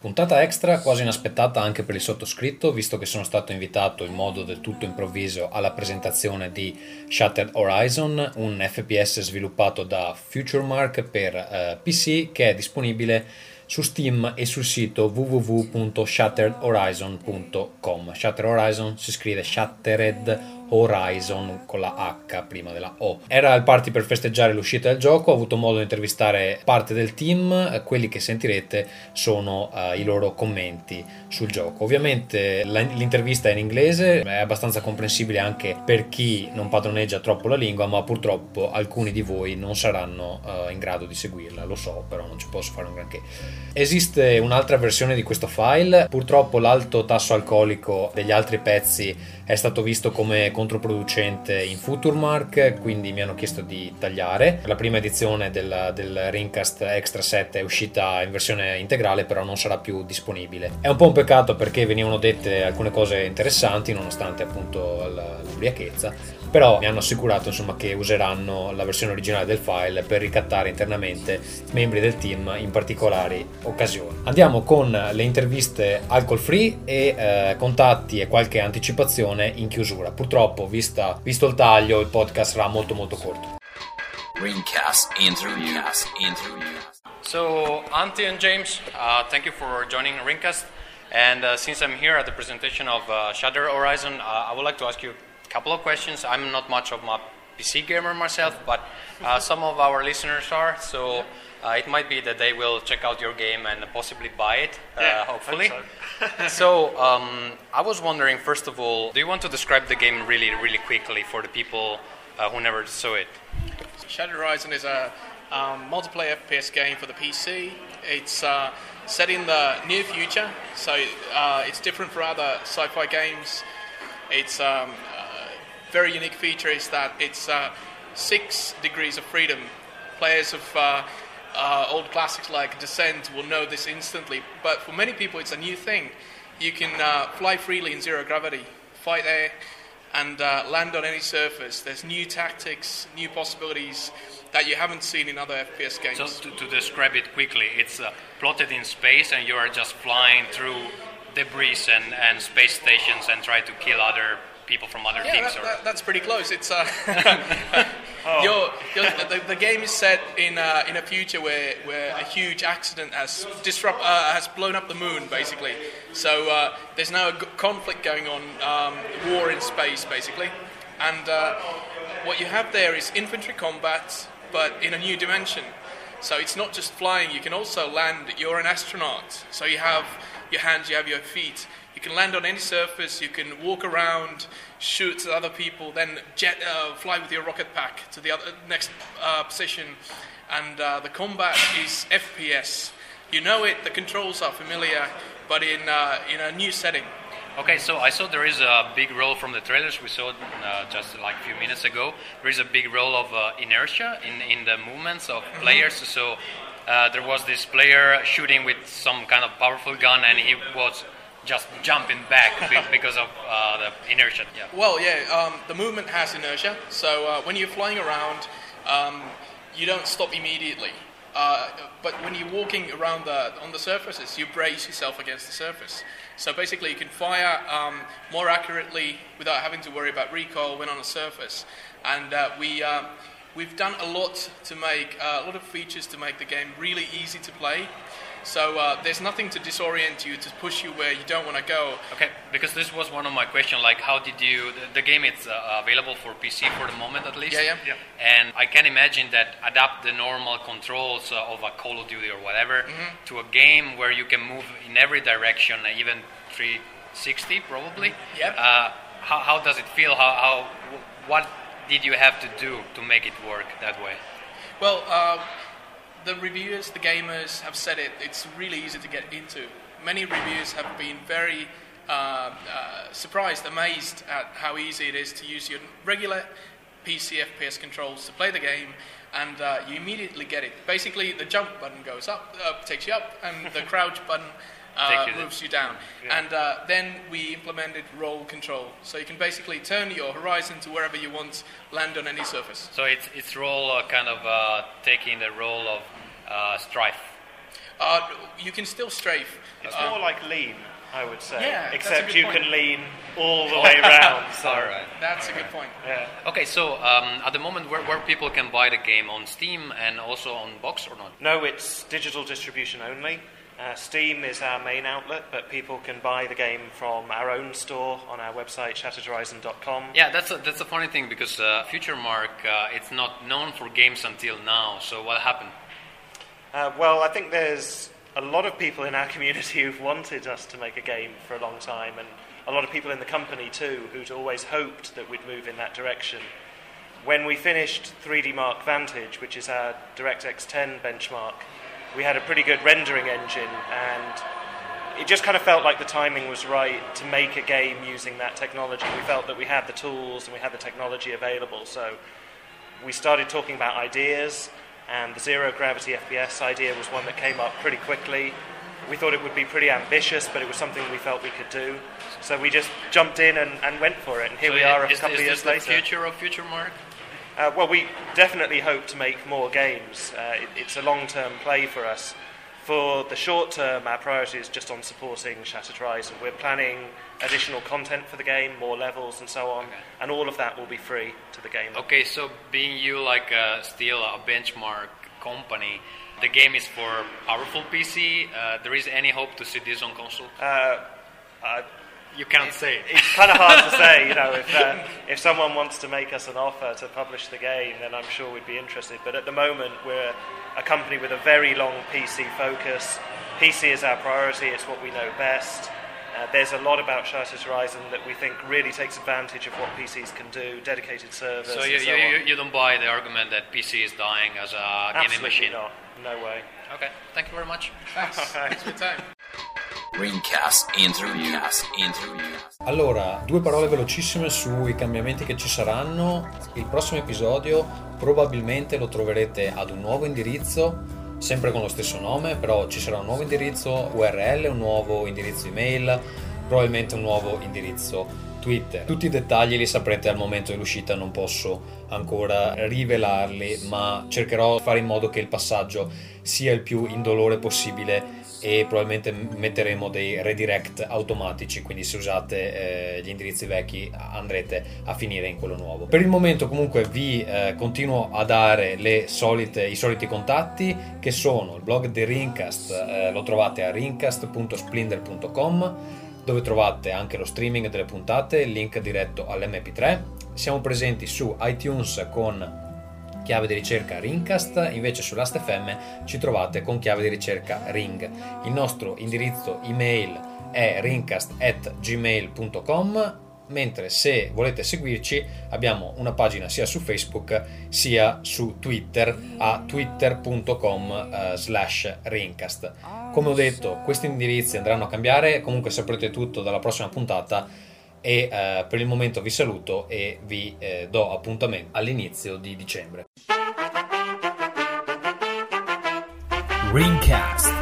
Puntata extra quasi inaspettata anche per il sottoscritto, visto che sono stato invitato in modo del tutto improvviso alla presentazione di Shattered Horizon, un FPS sviluppato da FutureMark per PC che è disponibile su Steam e sul sito www.shatteredhorizon.com. Shattered Horizon si scrive Shattered Horizon con la H prima della O. Era il party per festeggiare l'uscita del gioco, ho avuto modo di intervistare parte del team, quelli che sentirete sono i loro commenti sul gioco. Ovviamente l'intervista è in inglese, è abbastanza comprensibile anche per chi non padroneggia troppo la lingua, ma purtroppo alcuni di voi non saranno in grado di seguirla, lo so, però non ci posso fare un granché. Esiste un'altra versione di questo file, purtroppo l'alto tasso alcolico degli altri pezzi è stato visto come controproducente in FutureMark, quindi mi hanno chiesto di tagliare. La prima edizione del Rincast Extra 7 è uscita in versione integrale, però non sarà più disponibile. È un po' un peccato perché venivano dette alcune cose interessanti nonostante appunto l'ubriachezza, però mi hanno assicurato insomma che useranno la versione originale del file per ricattare internamente membri del team in particolari occasioni. Andiamo con le interviste alcol free e contatti e qualche anticipazione in chiusura. Purtroppo, visto il taglio, il podcast sarà molto corto. Ringcast interview. So, Antti and James, thank you for joining Ringcast. And since I'm here at the presentation of Shattered Horizon, I would like to ask you a couple of questions. I'm not much of a PC gamer myself, but some of our listeners are. So it might be that they will check out your game and possibly buy it, hopefully. So I was wondering, first of all, do you want to describe the game really quickly for the people who never saw it? Shattered Horizon is a multiplayer FPS game for the PC. It's set in the near future, so it's different from other sci-fi games. Its very unique feature is that it's 6 degrees of freedom. Players of old classics like Descent will know this instantly, but for many people it's a new thing. You can fly freely in zero gravity, fight air, and land on any surface. There's new tactics, new possibilities that you haven't seen in other FPS games. So to describe it quickly, it's plotted in space and you are just flying through debris and space stations and try to kill other people from other teams. That's pretty close. It's the game is set in a future where a huge accident has blown up the moon, basically. So there's now a conflict going on, war in space, basically. And what you have there is infantry combat, but in a new dimension. So it's not just flying, you can also land. You're an astronaut, so you have your hands, you have your feet. You can land on any surface, you can walk around, shoot at other people, then fly with your rocket pack to the next position. And the combat is FPS. You know it, the controls are familiar, but in a new setting. Okay, so I saw there is a big role from the trailers we saw just like a few minutes ago. There is a big role of inertia in the movements of players. So there was this player shooting with some kind of powerful gun, and he was just jumping back because of the inertia. Yeah. Well, the movement has inertia. So when you're flying around, you don't stop immediately. But when you're walking around on the surfaces, you brace yourself against the surface. So basically, you can fire more accurately without having to worry about recoil when on a surface. And we've done a lot of features to make the game really easy to play. So there's nothing to disorient you, to push you where you don't want to go. Okay, because this was one of my questions, like how did you... The game is available for PC for the moment at least. Yeah. And I can imagine that adapt the normal controls of a Call of Duty or whatever to a game where you can move in every direction, even 360 probably. Yep. How does it feel? What did you have to do to make it work that way? Well, the reviewers, the gamers have said it's really easy to get into. Many reviewers have been very surprised, amazed at how easy it is to use your regular PC FPS controls to play the game, and you immediately get it. Basically, the jump button goes up, takes you up, and the crouch button moves you down. Yeah. And then we implemented roll control. So you can basically turn your horizon to wherever you want, land on any surface. So it's roll kind of taking the role of Strife. You can still strafe. It's more like lean, I would say. Yeah, that's a except good you point. can lean all the way around. So. All right. That's a good point. Yeah. Okay, so at the moment, where people can buy the game on Steam and also on box or not? No, it's digital distribution only. Steam is our main outlet, but people can buy the game from our own store on our website, shatteredhorizon.com. Yeah, that's a funny thing because Future Mark, it's not known for games until now. So what happened? Well, I think there's a lot of people in our community who've wanted us to make a game for a long time, and a lot of people in the company too who'd always hoped that we'd move in that direction. When we finished 3D Mark Vantage, which is our DirectX 10 benchmark, we had a pretty good rendering engine, and it just kind of felt like the timing was right to make a game using that technology. We felt that we had the tools and we had the technology available, so we started talking about ideas, and the zero gravity FPS idea was one that came up pretty quickly. We thought it would be pretty ambitious, but it was something we felt we could do. So we just jumped in and went for it, and here we are a couple of years later. Is this the future of Future Mark? Well, we definitely hope to make more games. It's a long-term play for us. For the short term, our priority is just on supporting Shattered Horizon. We're planning additional content for the game, more levels and so on, and all of that will be free to the game. Okay, so being you still a benchmark company, the game is for powerful PC. There is any hope to see this on console? You can't say. It's kind of hard to say, if someone wants to make us an offer to publish the game, then I'm sure we'd be interested. But at the moment, we're a company with a very long PC focus. PC is our priority, it's what we know best. There's a lot about Shattered Horizon that we think really takes advantage of what PCs can do, dedicated servers. So and so on. you don't buy the argument that PC is dying as a gaming machine? Not. No way. Okay, thank you very much. Thanks. Thanks for your time. Ringcast Interview. Allora, 2 parole velocissime sui cambiamenti che ci saranno. Il prossimo episodio probabilmente lo troverete ad un nuovo indirizzo, sempre con lo stesso nome, però ci sarà un nuovo indirizzo URL, un nuovo indirizzo email, probabilmente un nuovo indirizzo Twitter. Tutti i dettagli li saprete al momento dell'uscita, non posso ancora rivelarli, ma cercherò di fare in modo che il passaggio sia il più indolore possibile, e probabilmente metteremo dei redirect automatici, quindi se usate gli indirizzi vecchi andrete a finire in quello nuovo. Per il momento comunque vi continuo a dare i soliti contatti, che sono il blog di Ringcast, lo trovate a ringcast.splendor.com, dove trovate anche lo streaming delle puntate, il link diretto all'MP3. Siamo presenti su iTunes con chiave di ricerca Ringcast, invece su Last.fm ci trovate con chiave di ricerca Ring. Il nostro indirizzo email è ringcast@gmail.com, mentre se volete seguirci abbiamo una pagina sia su Facebook sia su Twitter a twitter.com/ringcast. Come ho detto, questi indirizzi andranno a cambiare, comunque saprete tutto dalla prossima puntata, e per il momento vi saluto e vi do appuntamento all'inizio di dicembre. Ringcast.